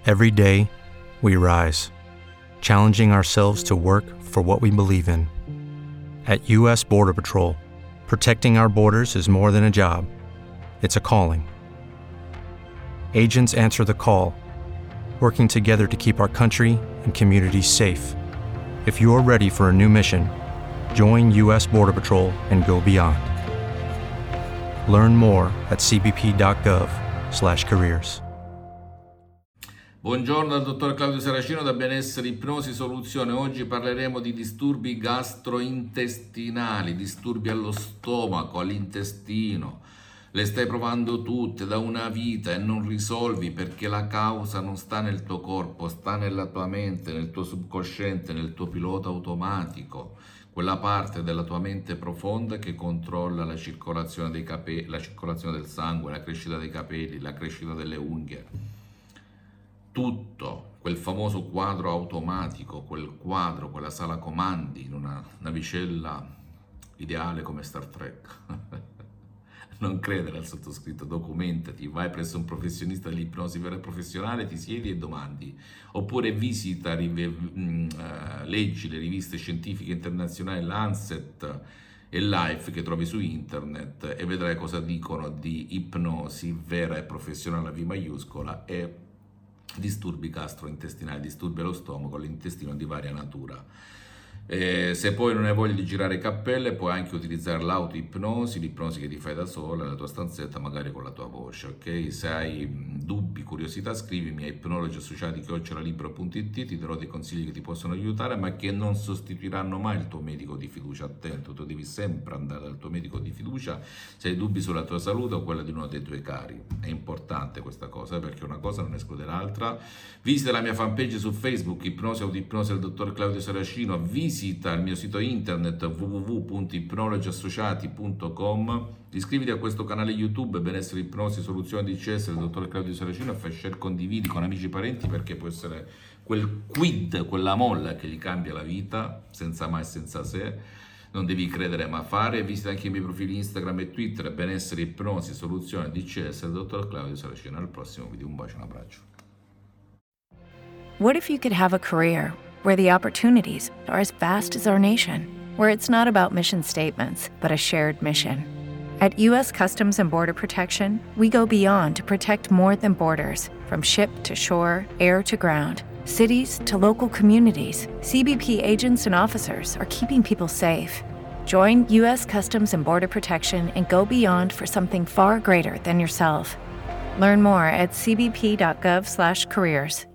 Every day, we rise, challenging ourselves to work for what we believe in. At U.S. Border Patrol, protecting our borders is more than a job. It's a calling. Agents answer the call, working together to keep our country and communities safe. If you're ready for a new mission, join U.S. Border Patrol and go beyond. Learn more at cbp.gov/careers. Buongiorno dal dottor Claudio Saracino da Benessere Ipnosi Soluzione. Oggi parleremo di disturbi gastrointestinali, disturbi allo stomaco, all'intestino. Le stai provando tutte da una vita e non risolvi perché la causa non sta nel tuo corpo, sta nella tua mente, nel tuo subconsciente, nel tuo pilota automatico, quella parte della tua mente profonda che controlla la circolazione dei capelli, la circolazione del sangue, la crescita dei capelli, la crescita delle unghie. Tutto, quel famoso quadro automatico, quel quadro, quella sala comandi in una navicella ideale come Star Trek. Non credere al sottoscritto, documentati, vai presso un professionista dell'ipnosi vera e professionale, ti siedi e domandi, oppure visita, leggi le riviste scientifiche internazionali Lancet e Life che trovi su internet e vedrai cosa dicono di ipnosi vera e professionale a V maiuscola e disturbi gastrointestinali, disturbi allo stomaco, all'intestino di varia natura. Se poi non hai voglia di girare cappelle, puoi anche utilizzare l'autoipnosi, l'ipnosi che ti fai da sola nella tua stanzetta, magari con la tua voce, ok? Se hai dubbi, curiosità, scrivimi a ipnologiassociati@libero.it, ti darò dei consigli che ti possono aiutare, ma che non sostituiranno mai il tuo medico di fiducia. Attento, tu devi sempre andare dal tuo medico di fiducia se hai dubbi sulla tua salute o quella di uno dei tuoi cari. È importante questa cosa, perché una cosa non esclude l'altra. Visita la mia fanpage su Facebook, Ipnosi Autoipnosi del dottor Claudio Saracino, visita il mio sito internet www.ipnologiassociati.com, iscriviti a questo canale YouTube Benessere Ipnosi Soluzione DCS del dottor Claudio Saracino e fai share, condividi con amici e parenti, perché può essere quel quid, quella molla che gli cambia la vita, senza mai e senza se. Non devi credere ma fare. Visita anche i miei profili Instagram e Twitter Benessere Ipnosi Soluzione DCS del dottor Claudio Saracino. Al prossimo video, un bacio e un abbraccio. What if you could have a career where the opportunities are as vast as our nation, where it's not about mission statements, but a shared mission? At U.S. Customs and Border Protection, we go beyond to protect more than borders. From ship to shore, air to ground, cities to local communities, CBP agents and officers are keeping people safe. Join U.S. Customs and Border Protection and go beyond for something far greater than yourself. Learn more at cbp.gov/careers.